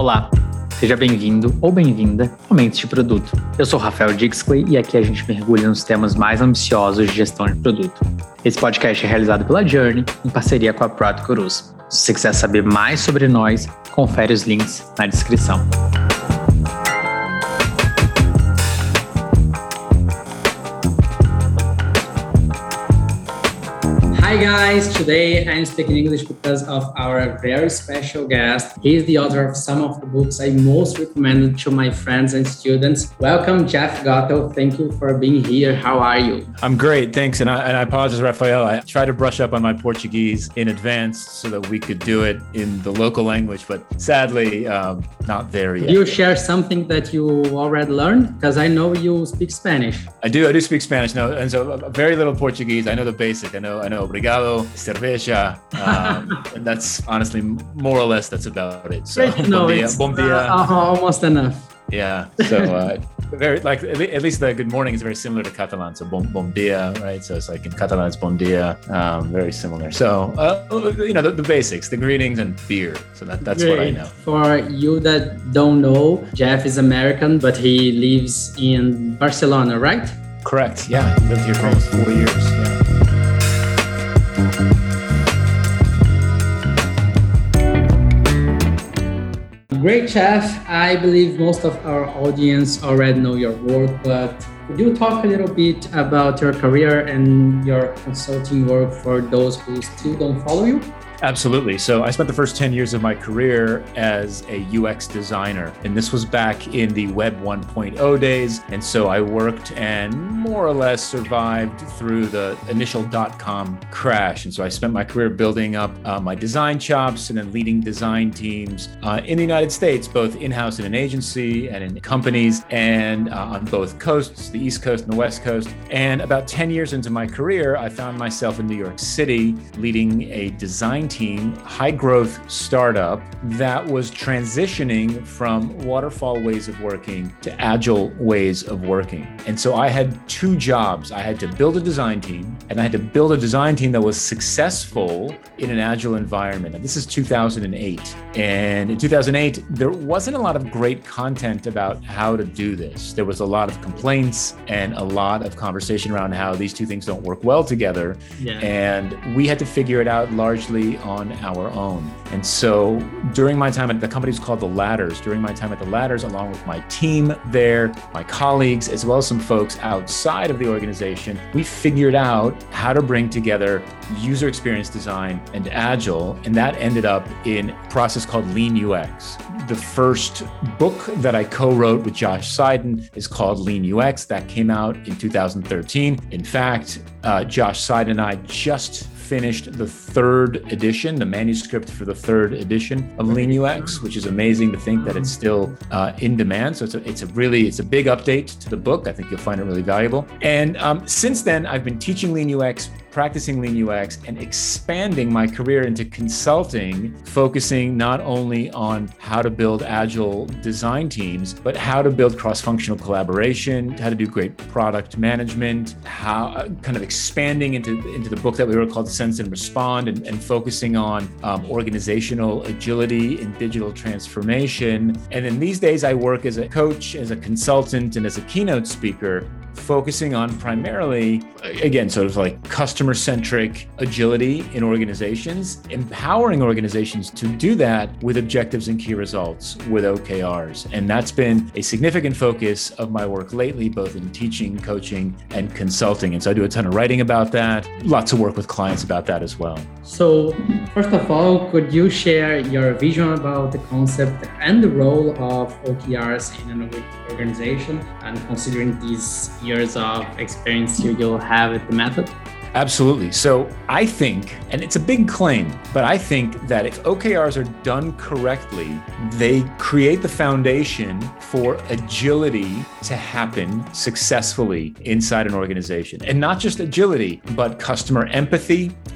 Olá, seja bem-vindo ou bem-vinda ao Mentes de Produto. Eu sou Rafael Dixley e aqui a gente mergulha nos temas mais ambiciosos de gestão de produto. Esse podcast é realizado pela Journey em parceria com a Product Gurus. Se você quiser saber mais sobre nós, confere os links na descrição. Hi guys, today I'm speaking English because of our very special guest. He's the author of some of the books I most recommended to my friends and students. Welcome, Jeff Gatto. Thank you for being here. How are you? I'm great, thanks. And I apologize, Rafael. I tried to brush up on my Portuguese in advance so that we could do it in the local language, but sadly, not there yet. Do you share something that you already learned? Because I know you speak Spanish. I do speak Spanish, no, and so very little Portuguese. I know the basic. I know obrigado, cerveja, and that's honestly more or less that's about it. So bom dia. Almost enough. Yeah. So very like at least the good morning is very similar to Catalan. So bom dia, right? So it's like in Catalan it's bon dia, very similar. So the basics, the greetings and beer. So that's Great. What I know. For you that don't know, Jeff is American, but he lives in Barcelona, right? Correct. Yeah, he lived here for almost 4 years. Yeah. Great, Jeff. I believe most of our audience already know your work, but could you talk a little bit about your career and your consulting work for those who still don't follow you? Absolutely. So I spent the first 10 years of my career as a UX designer, and this was back in the Web 1.0 days. And so I worked and more or less survived through the initial .com crash. And so I spent my career building up my design chops and then leading design teams in the United States, both in-house in an agency and in companies, and on both coasts, the East Coast and the West Coast. And about 10 years into my career, I found myself in New York City leading a design team, high growth startup that was transitioning from waterfall ways of working to agile ways of working. And so I had two jobs. I had to build a design team, and I had to build a design team that was successful in an agile environment. And this is 2008. And in 2008, there wasn't a lot of great content about how to do this. There was a lot of complaints and a lot of conversation around how these two things don't work well together. Yeah. And we had to figure it out largely on our own. And so during my time at the company was called The Ladders, along with my team there, my colleagues, as well as some folks outside of the organization, we figured out how to bring together user experience design and agile. And that ended up in a process called Lean UX. The first book that I co-wrote with Josh Seiden is called Lean UX. That came out in 2013. In fact, Josh Seiden and I just finished the third edition, the manuscript for the third edition of Lean UX, which is amazing to think that it's still in demand. So it's a big update to the book. I think you'll find it really valuable. And since then, I've been teaching Lean UX, practicing Lean UX, and expanding my career into consulting, focusing not only on how to build agile design teams, but how to build cross-functional collaboration, how to do great product management, how kind of expanding into the book that we wrote called Sense and Respond, and focusing on organizational agility and digital transformation. And then these days I work as a coach, as a consultant, and as a keynote speaker, focusing on primarily, again, sort of like customer-centric agility in organizations, empowering organizations to do that with objectives and key results with OKRs. And that's been a significant focus of my work lately, both in teaching, coaching, and consulting. And so I do a ton of writing about that, lots of work with clients about that as well. So first of all, could you share your vision about the concept and the role of OKRs in an organization, and considering these years of experience you'll have with the method? Absolutely. So I think, and it's a big claim, but I think that if OKRs are done correctly, they create the foundation for agility to happen successfully inside an organization. And not just agility, but customer empathy,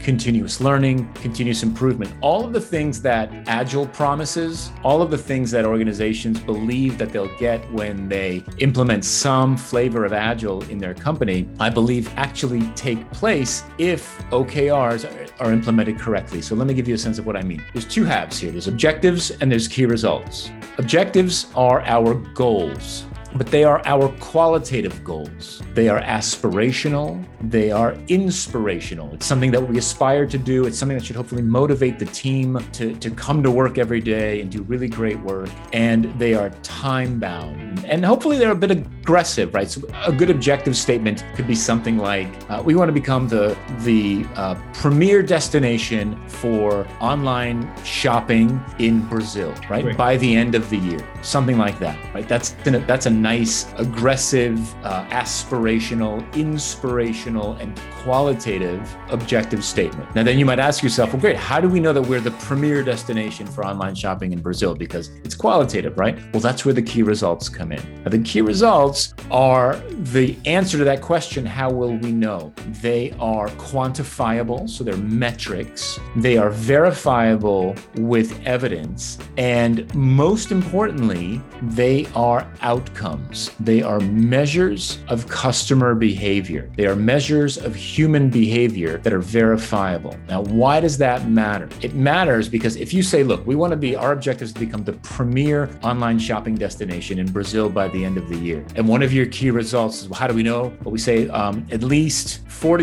continuous learning, continuous improvement, all of the things that Agile promises, all of the things that organizations believe that they'll get when they implement some flavor of Agile in their company, I believe actually take place if OKRs are implemented correctly. So let me give you a sense of what I mean. There's two halves here. There's objectives and there's key results. Objectives are our goals, but they are our qualitative goals. They are aspirational. They are inspirational. It's something that we aspire to do. It's something that should hopefully motivate the team to come to work every day and do really great work. And they are time-bound. And hopefully they're a bit aggressive, right? So a good objective statement could be something like, we want to become the premier destination for online shopping in Brazil, right? Great. By the end of the year, something like that, right? That's a nice, aggressive, aspirational, inspirational, and qualitative objective statement. Now, then you might ask yourself, well, great, how do we know that we're the premier destination for online shopping in Brazil? Because it's qualitative, right? Well, that's where the key results come in. Now, the key results are the answer to that question, how will we know? They are quantifiable, so they're metrics. They are verifiable with evidence. And most importantly, they are outcomes. They are measures of customer behavior. They are measures of human behavior that are verifiable. Now, why does that matter? It matters because if you say, look, our objective is to become the premier online shopping destination in Brazil by the end of the year. And one of your key results is, well, how do we know? Well, we say at least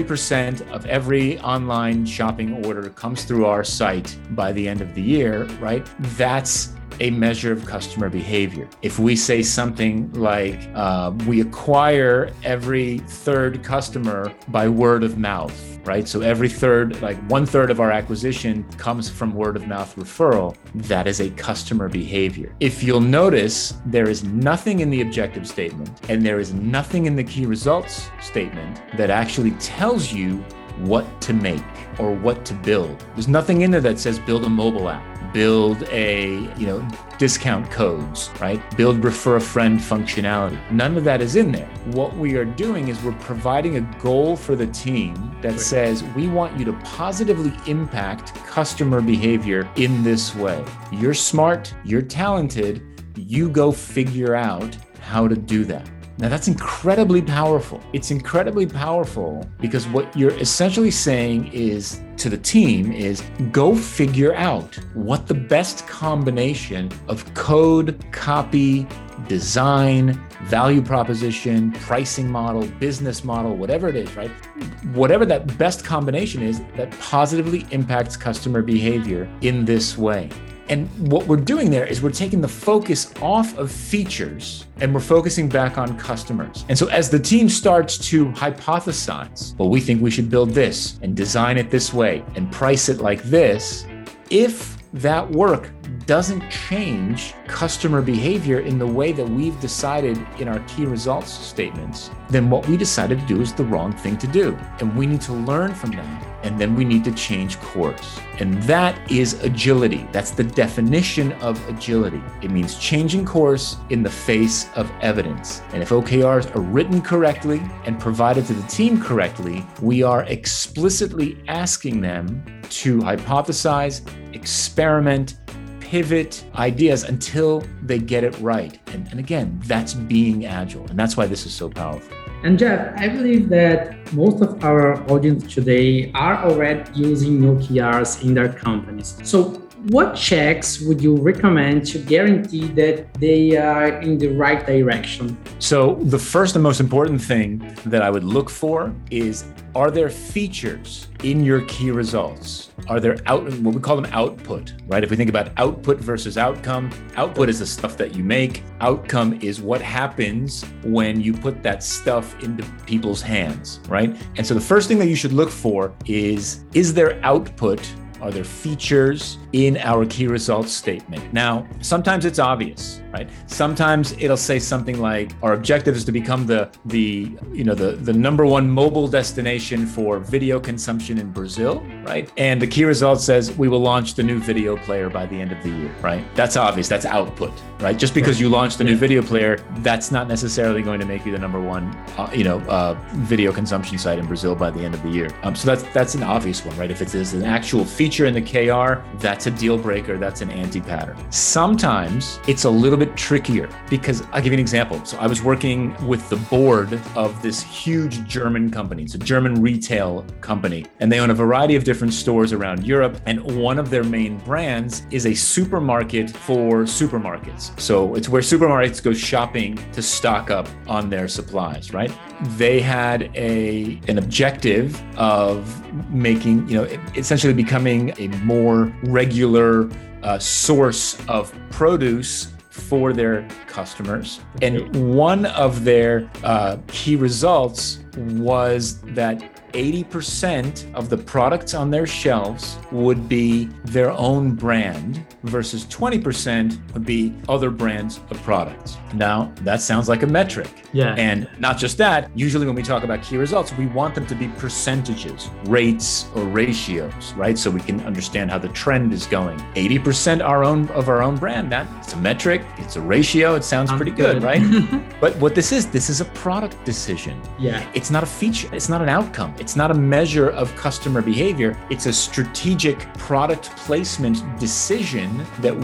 40% of every online shopping order comes through our site by the end of the year, right? That's a measure of customer behavior. If we say something like, we acquire every third customer by word of mouth, right? So every third, like 1/3 of our acquisition comes from word of mouth referral, that is a customer behavior. If you'll notice, there is nothing in the objective statement and there is nothing in the key results statement that actually tells you what to make or what to build. There's nothing in there that says build a mobile app, build a, discount codes, right? Build refer a friend functionality. None of that is in there. What we are doing is we're providing a goal for the team that says, we want you to positively impact customer behavior in this way. You're smart, you're talented, you go figure out how to do that. Now, that's incredibly powerful. It's incredibly powerful because what you're essentially saying is to the team is go figure out what the best combination of code, copy, design, value proposition, pricing model, business model, whatever it is, right? Whatever that best combination is that positively impacts customer behavior in this way. And what we're doing there is we're taking the focus off of features and we're focusing back on customers. And so as the team starts to hypothesize, well, we think we should build this and design it this way and price it like this, if that work doesn't change customer behavior in the way that we've decided in our key results statements, then what we decided to do is the wrong thing to do. And we need to learn from that. And then we need to change course. And that is agility. That's the definition of agility. It means changing course in the face of evidence. And if OKRs are written correctly and provided to the team correctly, we are explicitly asking them to hypothesize, experiment, pivot ideas until they get it right. And again, that's being agile. And that's why this is so powerful. And Jeff, I believe that most of our audience today are already using OKRs in their companies. So what checks would you recommend to guarantee that they are in the right direction? So the first and most important thing that I would look for is, are there features in your key results? Are there what we call them output, right? If we think about output versus outcome, output is the stuff that you make. Outcome is what happens when you put that stuff into people's hands, right? And so the first thing that you should look for is there output? Are there features in our key results statement? Now, sometimes it's obvious. right? Sometimes it'll say something like, our objective is to become the number one mobile destination for video consumption in Brazil, right? And the key result says we will launch the new video player by the end of the year, right? That's obvious, that's output, right? Just because you launched the new video player, that's not necessarily going to make you the number one, video consumption site in Brazil by the end of the year. So that's an obvious one, right? If it is an actual feature in the KR, that's a deal breaker, that's an anti-pattern. Sometimes it's a little bit trickier because I'll give you an example. So I was working with the board of this huge German company. It's a German retail company, and they own a variety of different stores around Europe. And one of their main brands is a supermarket for supermarkets. So it's where supermarkets go shopping to stock up on their supplies, right? They had an objective of making, essentially becoming a more regular source of produce for their customers. And one of their key results was that 80% of the products on their shelves would be their own brand versus 20% would be other brands of products. Now, that sounds like a metric. Yeah. And not just that, usually when we talk about key results, we want them to be percentages, rates, or ratios, right? So we can understand how the trend is going. 80% of our own brand, that's a metric, it's a ratio, it sounds pretty good, right? But what this is a product decision. Yeah. It's not a feature, it's not an outcome. It's not a measure of customer behavior. It's a strategic product placement decision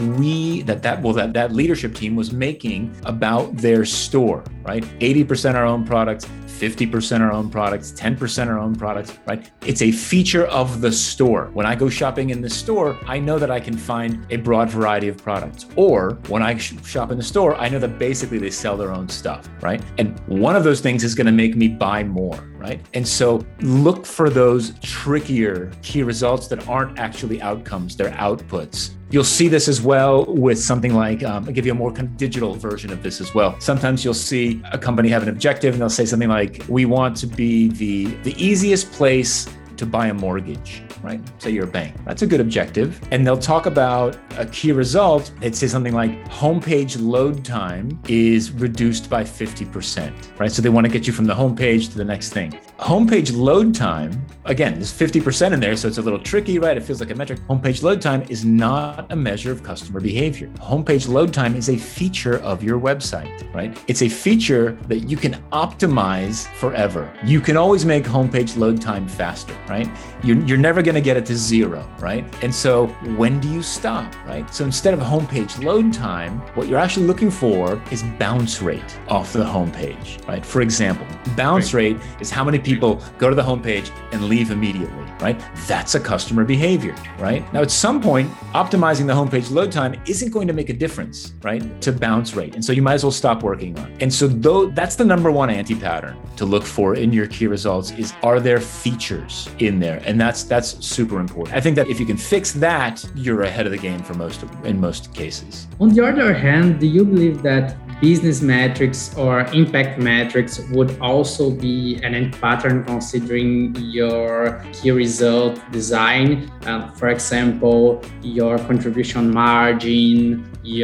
that leadership team was making about their store, right? 80% our own products, 50% our own products, 10% our own products, right? It's a feature of the store. When I go shopping in the store, I know that I can find a broad variety of products. Or when I shop in the store, I know that basically they sell their own stuff, right? And one of those things is going to make me buy more, right? And so look for those trickier key results that aren't actually outcomes, they're outputs. You'll see this as well with something like, I'll give you a more kind of digital version of this as well. Sometimes you'll see a company have an objective and they'll say something like, we want to be the easiest place to buy a mortgage, right? Say you're a bank. That's a good objective. And they'll talk about a key result. It says something like homepage load time is reduced by 50%, right? So they want to get you from the homepage to the next thing. Homepage load time, again, there's 50% in there, so it's a little tricky, right? It feels like a metric. Homepage load time is not a measure of customer behavior. Homepage load time is a feature of your website, right? It's a feature that you can optimize forever. You can always make homepage load time faster, right? You're never going to get it to zero, right? And so when do you stop, right? So instead of homepage load time, what you're actually looking for is bounce rate off the homepage, right? For example, bounce rate is how many people go to the homepage and leave immediately, right? That's a customer behavior, right? Now, at some point, optimizing the homepage load time isn't going to make a difference, right, to bounce rate. And so you might as well stop working on it. And so that's the number one anti-pattern to look for in your key results is, are there features in there? And that's super important. I think that if you can fix that, you're ahead of the game in most cases. On the other hand, do you believe that business metrics or impact metrics would also be an anti-pattern considering your key result design? For example, your contribution margin,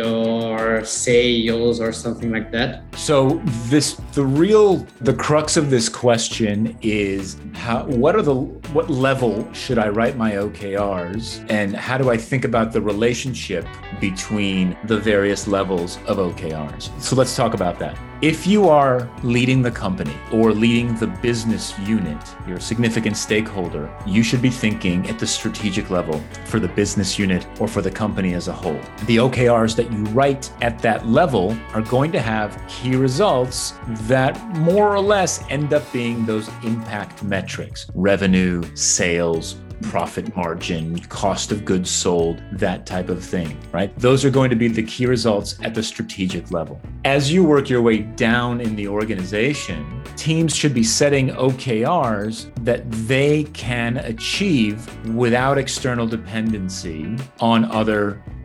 your sales, or something like that? So the crux of this question is what level should I write my OKRs, and how do I think about the relationship between the various levels of OKRs? So let's talk about that. If you are leading the company or leading the business unit, you're a significant stakeholder, you should be thinking at the strategic level for the business unit or for the company as a whole. The OKRs that you write at that level are going to have key results that more or less end up being those impact metrics: revenue, sales, profit margin, cost of goods sold, that type of thing, right? Those are going to be the key results at the strategic level. As you work your way down in the organization, teams should be setting OKRs that they can achieve without external dependency on other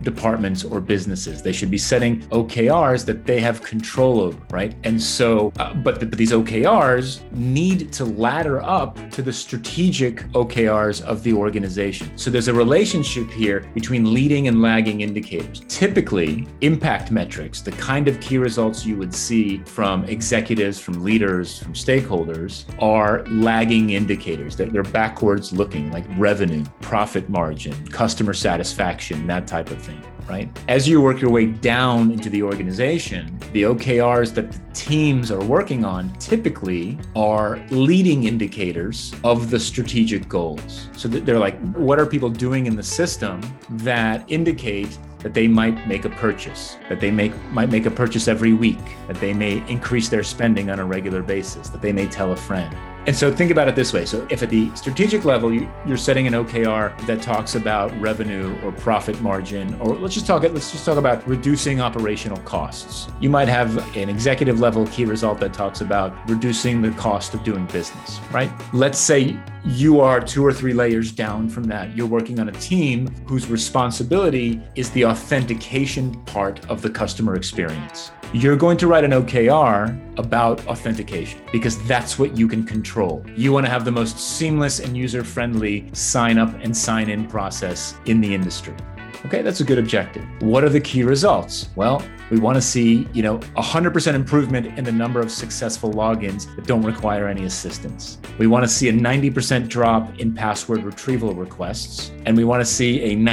departments or businesses. They should be setting OKRs that they have control over, right? And so, but these OKRs need to ladder up to the strategic OKRs of the organization. So there's a relationship here between leading and lagging indicators. Typically, impact metrics, the kind of key results you would see from executives, from leaders, from stakeholders, are lagging indicators. They're backwards looking, like revenue, profit margin, customer satisfaction, that type of thing, right? As you work your way down into the organization, the OKRs that the teams are working on typically are leading indicators of the strategic goals. So they're like, what are people doing in the system that indicate that they might make a purchase, that they might make a purchase every week, that they may increase their spending on a regular basis, that they may tell a friend. And so think about it this way. So if at the strategic level, you're setting an OKR that talks about revenue or profit margin, or let's just talk about reducing operational costs. You might have an executive level key result that talks about reducing the cost of doing business, right? Let's say you are 2 or 3 layers down from that. You're working on a team whose responsibility is the authentication part of the customer experience. You're going to write an OKR about authentication because that's what you can control. You want to have the most seamless and user-friendly sign up and sign in process in the industry. Okay, that's a good objective. What are the key results? Well, we want to see, 100% improvement in the number of successful logins that don't require any assistance. We want to see a 90% drop in password retrieval requests, and we want to see a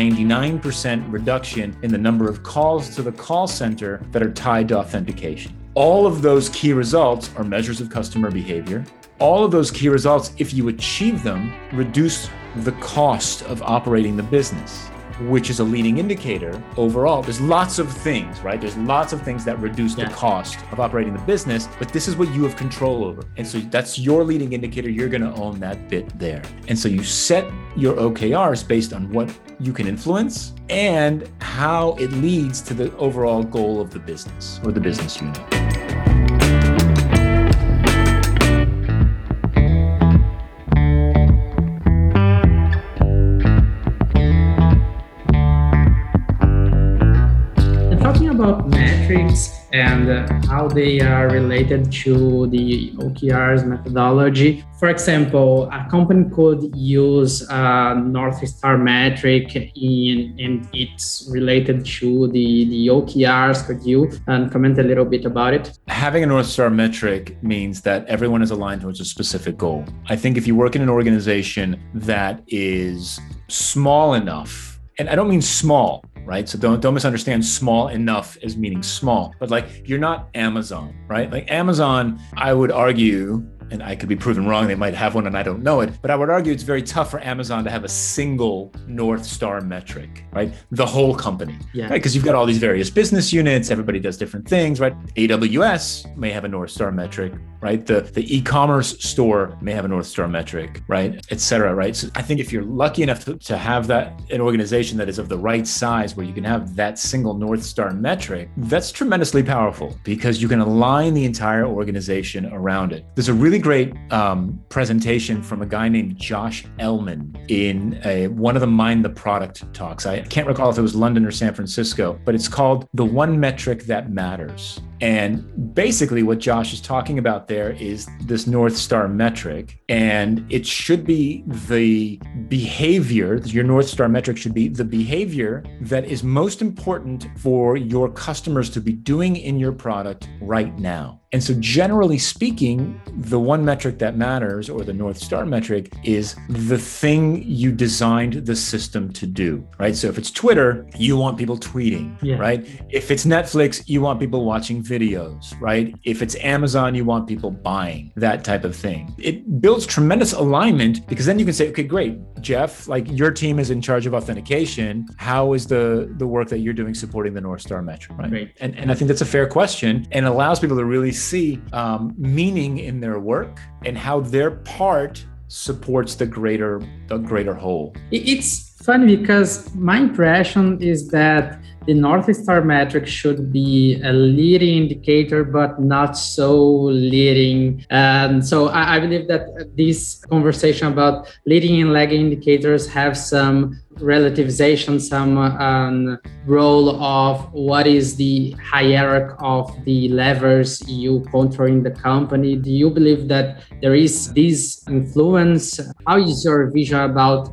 99% reduction in the number of calls to the call center that are tied to authentication. All of those key results are measures of customer behavior. All of those key results, if you achieve them, reduce the cost of operating the business, which is a leading indicator overall. There's lots of things, right? There's lots of things that reduce the cost of operating the business, but this is what you have control over. And so that's your leading indicator. You're going to own that bit there. And so you set your OKRs based on what you can influence and how it leads to the overall goal of the business or the business unit. About metrics and how they are related to the OKRs methodology. For example, a company could use a North Star metric and it's related to the OKRs. Could you comment a little bit about it? Having a North Star metric means that everyone is aligned towards a specific goal. I think if you work in an organization that is small enough, and I don't mean small, right? So don't misunderstand small enough as meaning small, but like you're not Amazon, right? Like Amazon, I would argue, and I could be proven wrong, they might have one and I don't know it, but I would argue it's very tough for Amazon to have a single North Star metric, right? The whole company, right? Because you've got all these various business units, everybody does different things, right? AWS may have a North Star metric, right? The e-commerce store may have a North Star metric, right? Et cetera, right? So I think if you're lucky enough to have an organization that is of the right size where you can have that single North Star metric, that's tremendously powerful because you can align the entire organization around it. There's a really great presentation from a guy named Josh Ellman in one of the Mind the Product talks. I can't recall if it was London or San Francisco, but it's called The One Metric That Matters. And basically what Josh is talking about there is this North Star metric, and it should be the behavior, your North Star metric should be the behavior that is most important for your customers to be doing in your product right now. And so generally speaking, the one metric that matters, or the North Star metric, is the thing you designed the system to do, right? So if it's Twitter, you want people tweeting, right? If it's Netflix, you want people watching videos, right? If it's Amazon, you want people buying, that type of thing. It builds tremendous alignment because then you can say, okay, great, Jeff, like your team is in charge of authentication. How is the work that you're doing supporting the North Star metric, right? Great. And I think that's a fair question and allows people to really see meaning in their work and how their part supports the greater whole. It's funny because my impression is that the North Star metric should be a leading indicator, but not so leading. And so I believe that this conversation about leading and lagging indicators have some relativization, some role of what is the hierarchy of the levers you control in the company. Do you believe that there is this influence? How is your vision about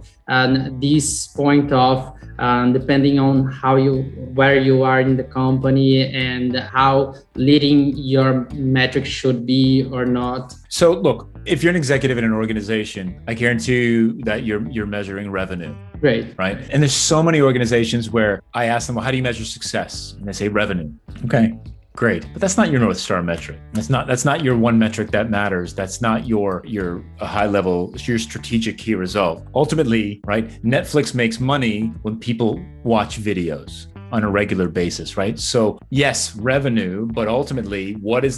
this point of depending on where you are in the company and how leading your metrics should be or not? So look, if you're an executive in an organization, I guarantee you that you're measuring revenue. Great. Right. And there's so many organizations where I ask them, well, how do you measure success? And they say revenue. Okay. Great. But that's not your North Star metric. That's not your one metric that matters. That's not your high level, your strategic key result. Ultimately, right, Netflix makes money when people watch videos on a regular basis, right? So yes, revenue, but ultimately, what is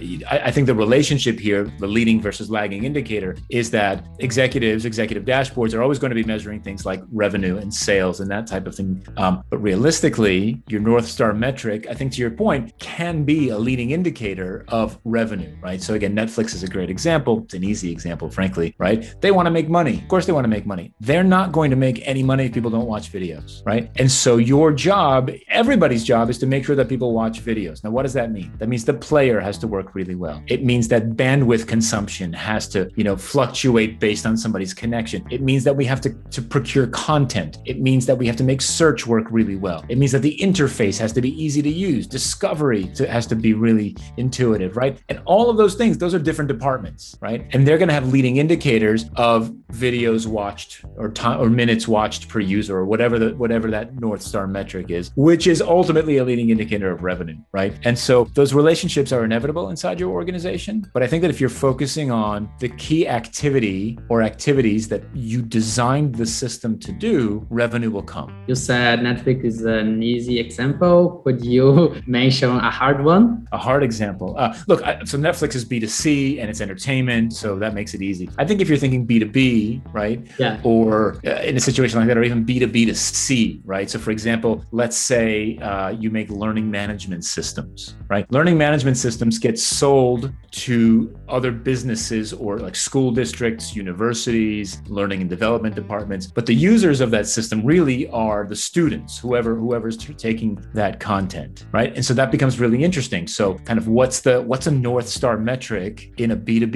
I think the relationship here, the leading versus lagging indicator, is that executive dashboards are always going to be measuring things like revenue and sales and that type of thing. But realistically, your North Star metric, I think to your point, can be a leading indicator of revenue, right? So again, Netflix is a great example. It's an easy example, frankly, right? They want to make money. Of course they want to make money. They're not going to make any money if people don't watch videos, right? And so your job, everybody's job, is to make sure that people watch videos. Now, what does that mean? That means the player has to work really well. It means that bandwidth consumption has to, fluctuate based on somebody's connection. It means that we have to procure content. It means that we have to make search work really well. It means that the interface has to be easy to use. Discovery has to be really intuitive, right? And all of those things, those are different departments, right? And they're going to have leading indicators of videos watched or time or minutes watched per user or whatever that North Star metric is, which is ultimately a leading indicator of revenue, right? And so those relationships are inevitable inside your organization. But I think that if you're focusing on the key activity or activities that you designed the system to do, revenue will come. You said Netflix is an easy example. Could you mention a hard one? A hard example. So Netflix is B2C and it's entertainment, so that makes it easy. I think if you're thinking B2B, right? Yeah. Or in a situation like that, or even B2B2C, right? So for example, let's say you make learning management systems, right? Learning management systems get sold to other businesses or like school districts, universities, learning and development departments. But the users of that system really are the students, whoever's taking that content, right? And so that becomes really interesting. So kind of what's a North Star metric in a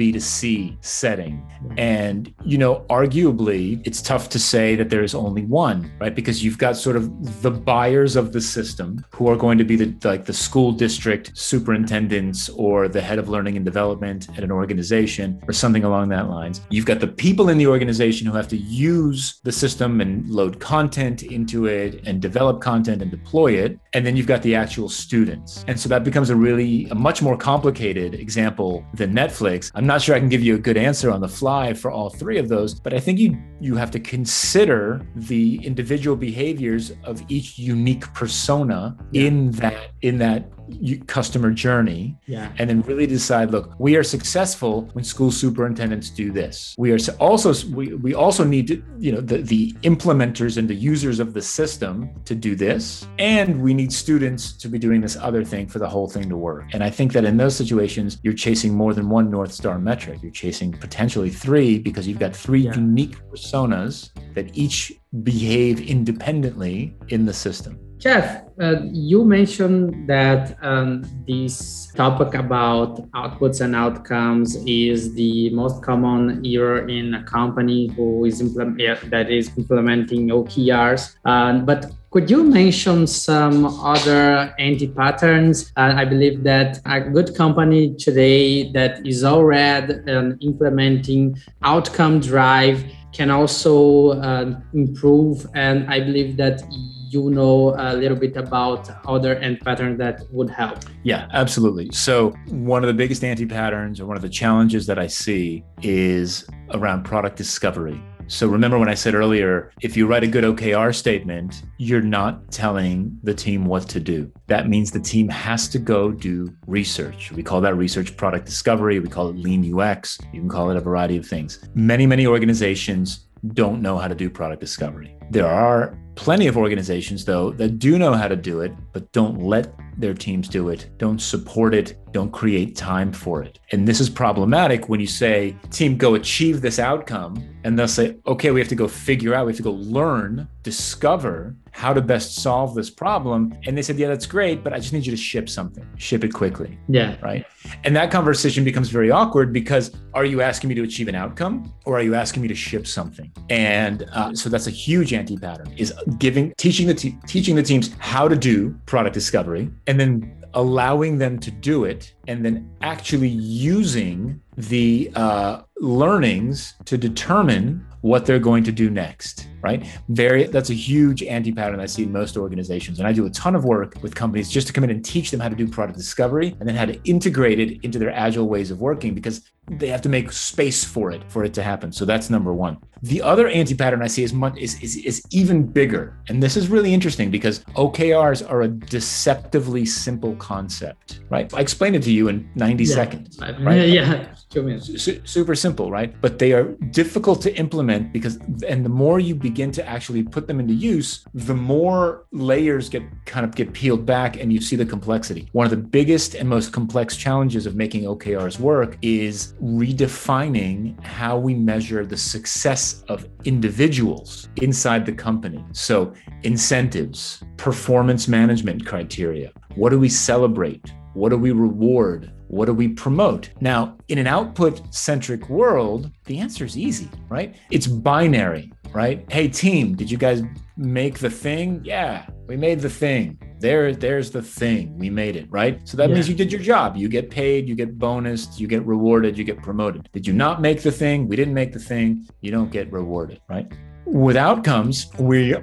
B2B2C setting? And, arguably it's tough to say that there is only one, right? Because you've got sort of the buyers of the system who are going to be the school district superintendents or the head of learning and development at an organization or something along that lines. You've got the people in the organization who have to use the system and load content into it and develop content and deploy it. And then you've got the actual students. And so that becomes a much more complicated example than Netflix. I'm not sure I can give you a good answer on the fly for all three of those, but I think you have to consider the individual behaviors of each unique persona in that customer journey, and then really decide, look, we are successful when school superintendents do this. We also need to, the implementers and the users of the system to do this, and we need students to be doing this other thing for the whole thing to work. And I think that in those situations, you're chasing more than one North Star metric. You're chasing potentially three because you've got three unique personas that each behave independently in the system. Jeff, you mentioned that this topic about outputs and outcomes is the most common error in a company that is implementing OKRs. But could you mention some other anti-patterns? I believe that a good company today that is already implementing outcome drive can also improve. And I believe that you know a little bit about other anti-patterns that would help. Yeah, absolutely. So one of the biggest anti-patterns or one of the challenges that I see is around product discovery. So remember when I said earlier, if you write a good OKR statement, you're not telling the team what to do. That means the team has to go do research. We call that research product discovery. We call it lean UX. You can call it a variety of things. Many organizations don't know how to do product discovery. There are plenty of organizations, though, that do know how to do it, but don't let their teams do it, don't support it, don't create time for it. And this is problematic when you say, team, go achieve this outcome. And they'll say, okay, we have to go figure out, we have to go learn, discover how to best solve this problem. And they said, yeah, that's great, but I just need you to ship something, ship it quickly. Yeah. Right. And that conversation becomes very awkward because are you asking me to achieve an outcome or are you asking me to ship something? And so that's a huge anti-pattern, is teaching the teams how to do product discovery and then allowing them to do it and then actually using the learnings to determine what they're going to do next, right? That's a huge anti-pattern I see in most organizations. And I do a ton of work with companies just to come in and teach them how to do product discovery and then how to integrate it into their agile ways of working, because they have to make space for it to happen. So that's number one. The other anti-pattern I see is even bigger. And this is really interesting because OKRs are a deceptively simple concept, right? I explained it to you in 90 seconds, right? Yeah. 2 minutes. Super simple, right? But they are difficult to implement because, and the more you begin to actually put them into use, the more layers get peeled back and you see the complexity. One of the biggest and most complex challenges of making OKRs work is redefining how we measure the success of individuals inside the company. So incentives, performance management criteria. What do we celebrate? What do we reward? What do we promote? Now, in an output-centric world, the answer is easy, right? It's binary, right? Hey, team, did you guys make the thing? Yeah, we made the thing. There's the thing. We made it, right? So that means you did your job. You get paid, you get bonused, you get rewarded, you get promoted. Did you not make the thing? We didn't make the thing. You don't get rewarded, right? With outcomes, with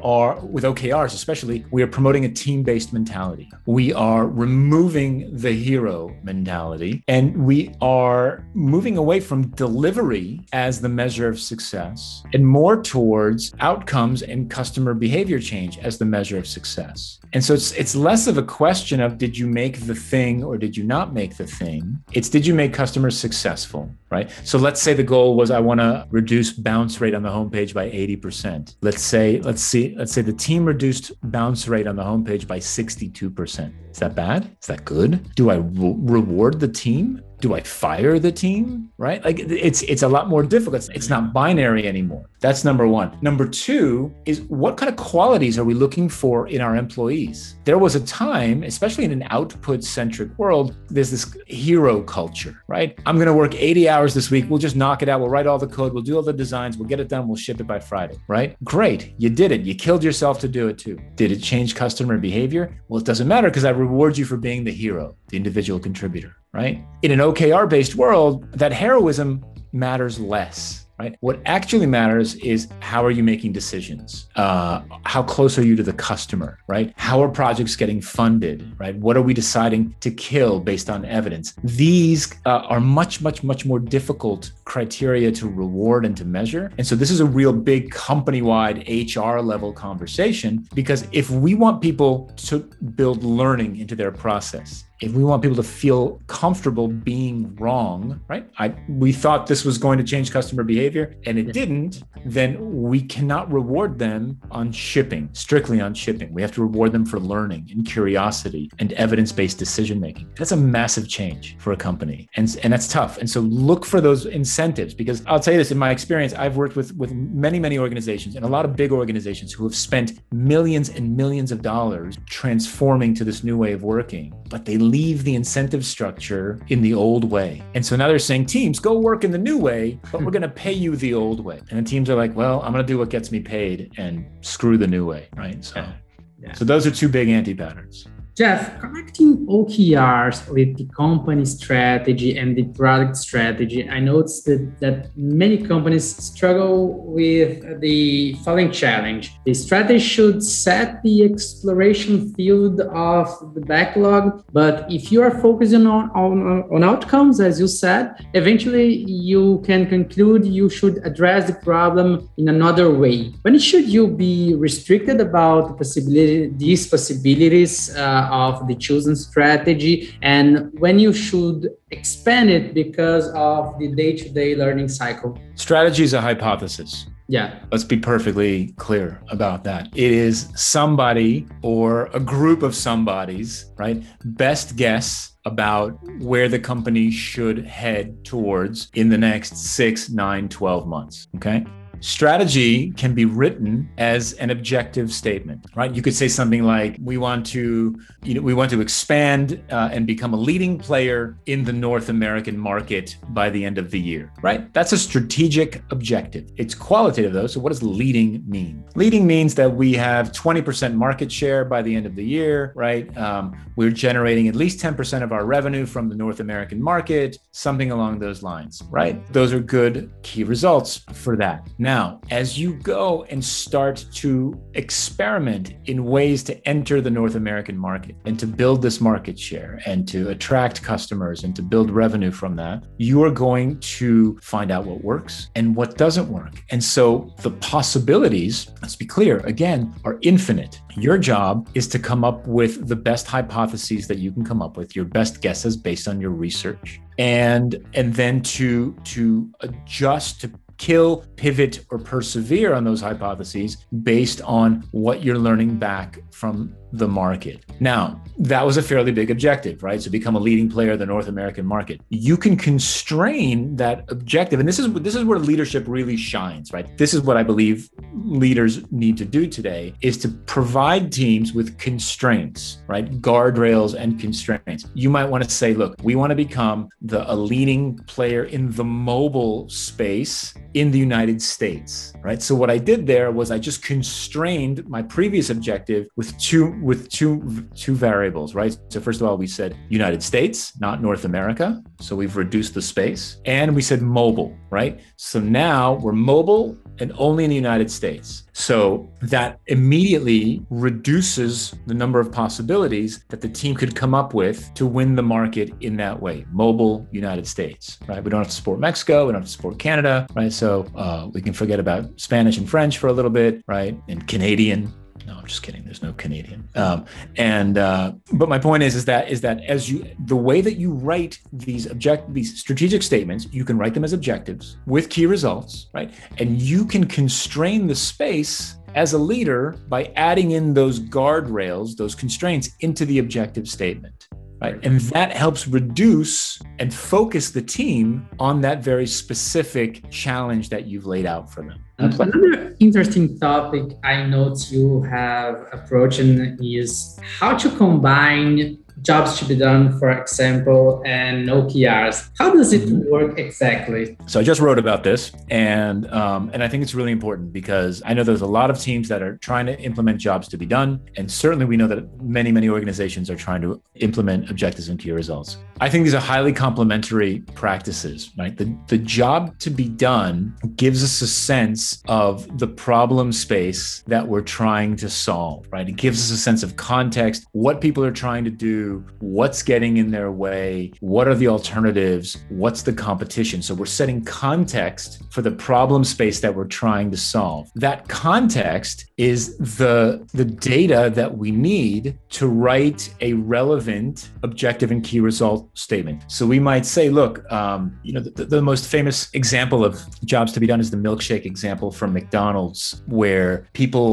OKRs especially, we are promoting a team-based mentality. We are removing the hero mentality, and we are moving away from delivery as the measure of success and more towards outcomes and customer behavior change as the measure of success. And so it's less of a question of did you make the thing or did you not make the thing? It's did you make customers successful, right? So let's say the goal was I want to reduce bounce rate on the homepage by 80%. Let's say the team reduced bounce rate on the homepage by 62%. Is that bad? Is that good? Do I reward the team? Do I fire the team? Right? Like it's a lot more difficult. It's not binary anymore. That's number one. Number two is what kind of qualities are we looking for in our employees? There was a time, especially in an output-centric world, there's this hero culture, right? I'm going to work 80 hours this week. We'll just knock it out. We'll write all the code. We'll do all the designs. We'll get it done. We'll ship it by Friday, right? Great. You did it. You killed yourself to do it too. Did it change customer behavior? Well, it doesn't matter because I reward you for being the hero, the individual contributor, right? In an OKR-based world, that heroism matters less, right? What actually matters is how are you making decisions? How close are you to the customer, right? How are projects getting funded, right? What are we deciding to kill based on evidence? These are much, much, much more difficult criteria to reward and to measure. And so this is a real big company-wide HR level conversation, because if we want people to build learning into their process, if we want people to feel comfortable being wrong, right? We thought this was going to change customer behavior and it didn't, then we cannot reward them on shipping, strictly on shipping. We have to reward them for learning and curiosity and evidence-based decision-making. That's a massive change for a company. And that's tough. And so look for those incentives, because I'll tell you this, in my experience, I've worked with many, many organizations and a lot of big organizations who have spent millions and millions of dollars transforming to this new way of working, but they leave the incentive structure in the old way. And so now they're saying, teams, go work in the new way, but we're going to pay you the old way. And the teams are like, well, I'm going to do what gets me paid and screw the new way, right? So those are two big anti-patterns. Jeff, connecting OKRs with the company strategy and the product strategy, I noticed that many companies struggle with the following challenge. The strategy should set the exploration field of the backlog, but if you are focusing on outcomes, as you said, eventually you can conclude you should address the problem in another way. When should you be restricted about these possibilities of the chosen strategy, and when you should expand it because of the day-to-day learning cycle? Strategy is a hypothesis. Yeah. Let's be perfectly clear about that. It is somebody or a group of somebody's, right, best guess about where the company should head towards in the next 6, 9, 12 months. Okay. Strategy can be written as an objective statement, right? You could say something like, we want to expand and become a leading player in the North American market by the end of the year, right? That's a strategic objective. It's qualitative though. So what does leading mean? Leading means that we have 20% market share by the end of the year, right? We're generating at least 10% of our revenue from the North American market, something along those lines, right? Those are good key results for that. Now, as you go and start to experiment in ways to enter the North American market and to build this market share and to attract customers and to build revenue from that, you are going to find out what works and what doesn't work. And so the possibilities, let's be clear, again, are infinite. Your job is to come up with the best hypotheses that you can come up with, your best guesses based on your research, and then to adjust, to kill, pivot, or persevere on those hypotheses based on what you're learning back from the market. Now, that was a fairly big objective, right? So become a leading player in the North American market. You can constrain that objective. And this is where leadership really shines, right? This is what I believe leaders need to do today, is to provide teams with constraints, right? Guardrails and constraints. You might want to say, look, we want to become a leading player in the mobile space in the United States, right? So what I did there was I just constrained my previous objective with two variables, right? So first of all, we said United States, not North America. So we've reduced the space, and we said mobile, right? So now we're mobile and only in the United States. So that immediately reduces the number of possibilities that the team could come up with to win the market in that way. Mobile, United States, right? We don't have to support Mexico. We don't have to support Canada, right? So we can forget about Spanish and French for a little bit, right? And Canadian. No, I'm just kidding. There's no Canadian. But my point is that the way that you write these strategic statements, you can write them as objectives with key results, right? And you can constrain the space as a leader by adding in those guardrails, those constraints into the objective statement. Right. And that helps reduce and focus the team on that very specific challenge that you've laid out for them. Another interesting topic I note you have approaching is how to combine jobs to be done, for example, and OKRs. How does it work exactly? So I just wrote about this, and I think it's really important because I know there's a lot of teams that are trying to implement jobs to be done, and certainly we know that many organizations are trying to implement objectives and key results. I think these are highly complementary practices, right? The job to be done gives us a sense of the problem space that we're trying to solve, right? It gives us a sense of context, what people are trying to do, what's getting in their way, what are the alternatives, what's the competition. So we're setting context for the problem space that we're trying to solve. That context is the data that we need to write a relevant objective and key result statement. So we might say, look, the most famous example of jobs to be done is the milkshake example from McDonald's, where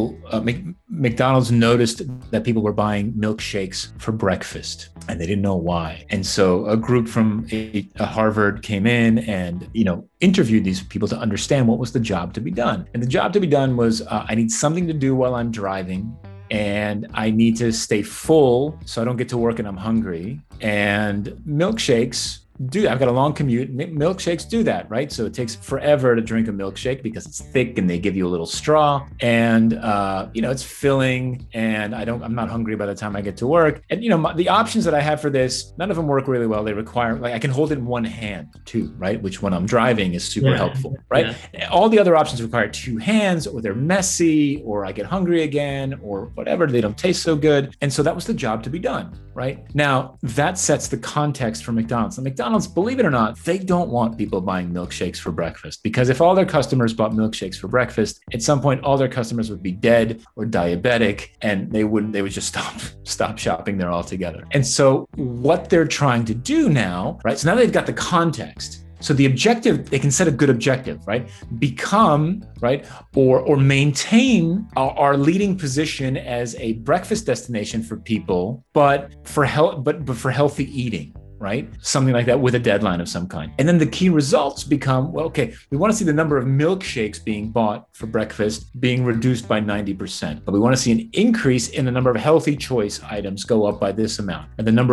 McDonald's noticed that people were buying milkshakes for breakfast and they didn't know why. And so a group from a Harvard came in and, interviewed these people to understand what was the job to be done. And the job to be done was, I need something to do while I'm driving, and I need to stay full so I don't get to work and I'm hungry. And milkshakes I've got a long commute. Milkshakes do that, right? So it takes forever to drink a milkshake because it's thick and they give you a little straw, and it's filling, and I'm not hungry by the time I get to work. And the options that I have for this, none of them work really well. They require, I can hold it in one hand too, right? Which when I'm driving is super helpful, right? Yeah. All the other options require two hands, or they're messy, or I get hungry again, or whatever. They don't taste so good. And so that was the job to be done, right? Now that sets the context for McDonald's. And McDonald's, believe it or not, they don't want people buying milkshakes for breakfast, because if all their customers bought milkshakes for breakfast, at some point all their customers would be dead or diabetic, and they would just stop shopping there altogether. And so what they're trying to do now, right? So now they've got the context. So the objective, they can set a good objective, right? Become, right, or maintain our leading position as a breakfast destination for people, but for healthy eating. Right? Something like that with a deadline of some kind. And then the key results become, well, okay, we want to see the number of milkshakes being bought for breakfast being reduced by 90%. But we want to see an increase in the number of healthy choice items go up by this amount. And the amount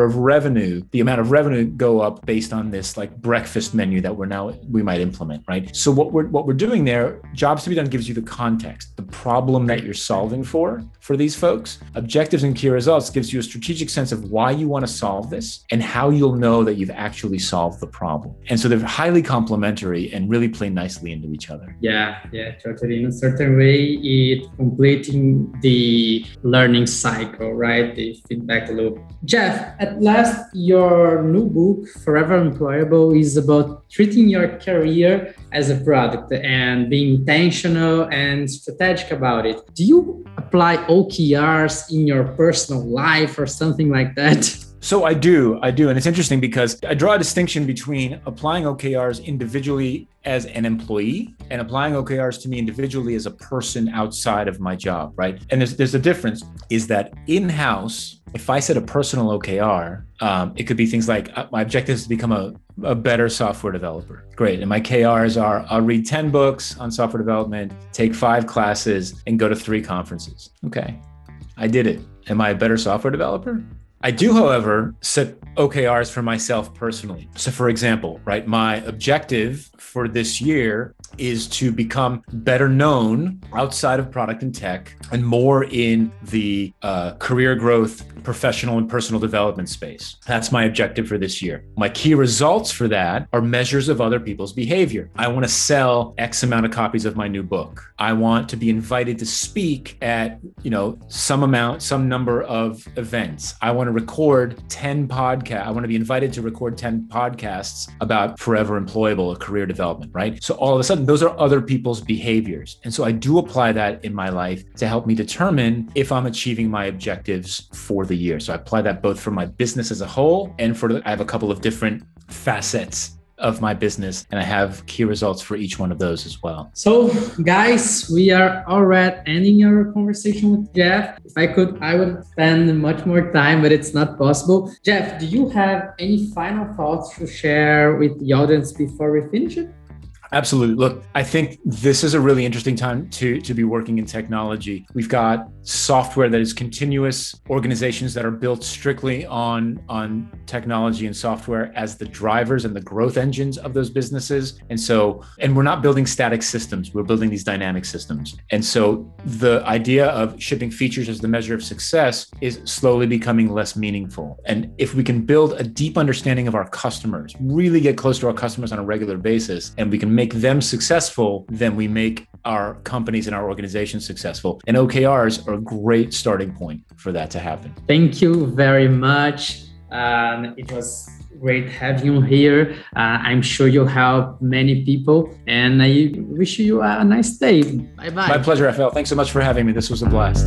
of revenue go up based on this like breakfast menu that we might implement, right? So what we're doing there, Jobs to be Done gives you the context, the problem that you're solving for these folks. Objectives and key results gives you a strategic sense of why you want to solve this and how you'll know that you've actually solved the problem. And so they're highly complementary and really play nicely into each other. Yeah, totally. In a certain way, it completing the learning cycle, right? The feedback loop. Jeff, at last, your new book, Forever Employable, is about treating your career as a product and being intentional and strategic about it. Do you apply OKRs in your personal life or something like that? So I do. And it's interesting because I draw a distinction between applying OKRs individually as an employee and applying OKRs to me individually as a person outside of my job, right? And there's a difference is that in-house, if I set a personal OKR, it could be things like my objective is to become a better software developer. Great. And my KRs are I'll read 10 books on software development, take 5 classes, and go to 3 conferences. Okay, I did it. Am I a better software developer? I do, however, set OKRs for myself personally. So for example, right, my objective for this year is to become better known outside of product and tech and more in the career growth, professional and personal development space. That's my objective for this year. My key results for that are measures of other people's behavior. I want to sell X amount of copies of my new book. I want to be invited to speak at, some number of events. I want to record 10 podcasts. I want to be invited to record 10 podcasts about Forever Employable, a career development, right? So all of a sudden, those are other people's behaviors. And so I do apply that in my life to help me determine if I'm achieving my objectives for the year. So I apply that both for my business as a whole and I have a couple of different facets of my business, and I have key results for each one of those as well. So guys, we are already ending our conversation with Jeff. If I could, I would spend much more time, but it's not possible. Jeff, do you have any final thoughts to share with the audience before we finish it? Absolutely. Look, I think this is a really interesting time to be working in technology. We've got software that is continuous, organizations that are built strictly on technology and software as the drivers and the growth engines of those businesses. And we're not building static systems, we're building these dynamic systems. And so the idea of shipping features as the measure of success is slowly becoming less meaningful. And if we can build a deep understanding of our customers, really get close to our customers on a regular basis, and we can make them successful, then we make our companies and our organizations successful. And OKRs are a great starting point for that to happen. Thank you very much. It was great having you here. I'm sure you'll help many people, and I wish you a nice day. Bye-bye. My pleasure, Rafael. Thanks so much for having me. This was a blast.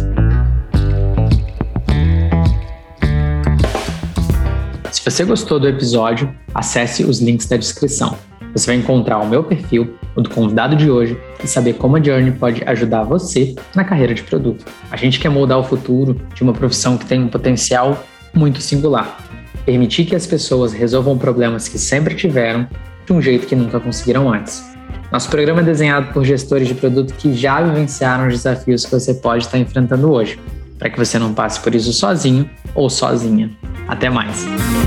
Se você gostou do episódio, acesse os links da descrição. Você vai encontrar o meu perfil, o do convidado de hoje, e saber como a Journey pode ajudar você na carreira de produto. A gente quer moldar o futuro de uma profissão que tem um potencial muito singular. Permitir que as pessoas resolvam problemas que sempre tiveram de um jeito que nunca conseguiram antes. Nosso programa é desenhado por gestores de produto que já vivenciaram os desafios que você pode estar enfrentando hoje, para que você não passe por isso sozinho ou sozinha. Até mais!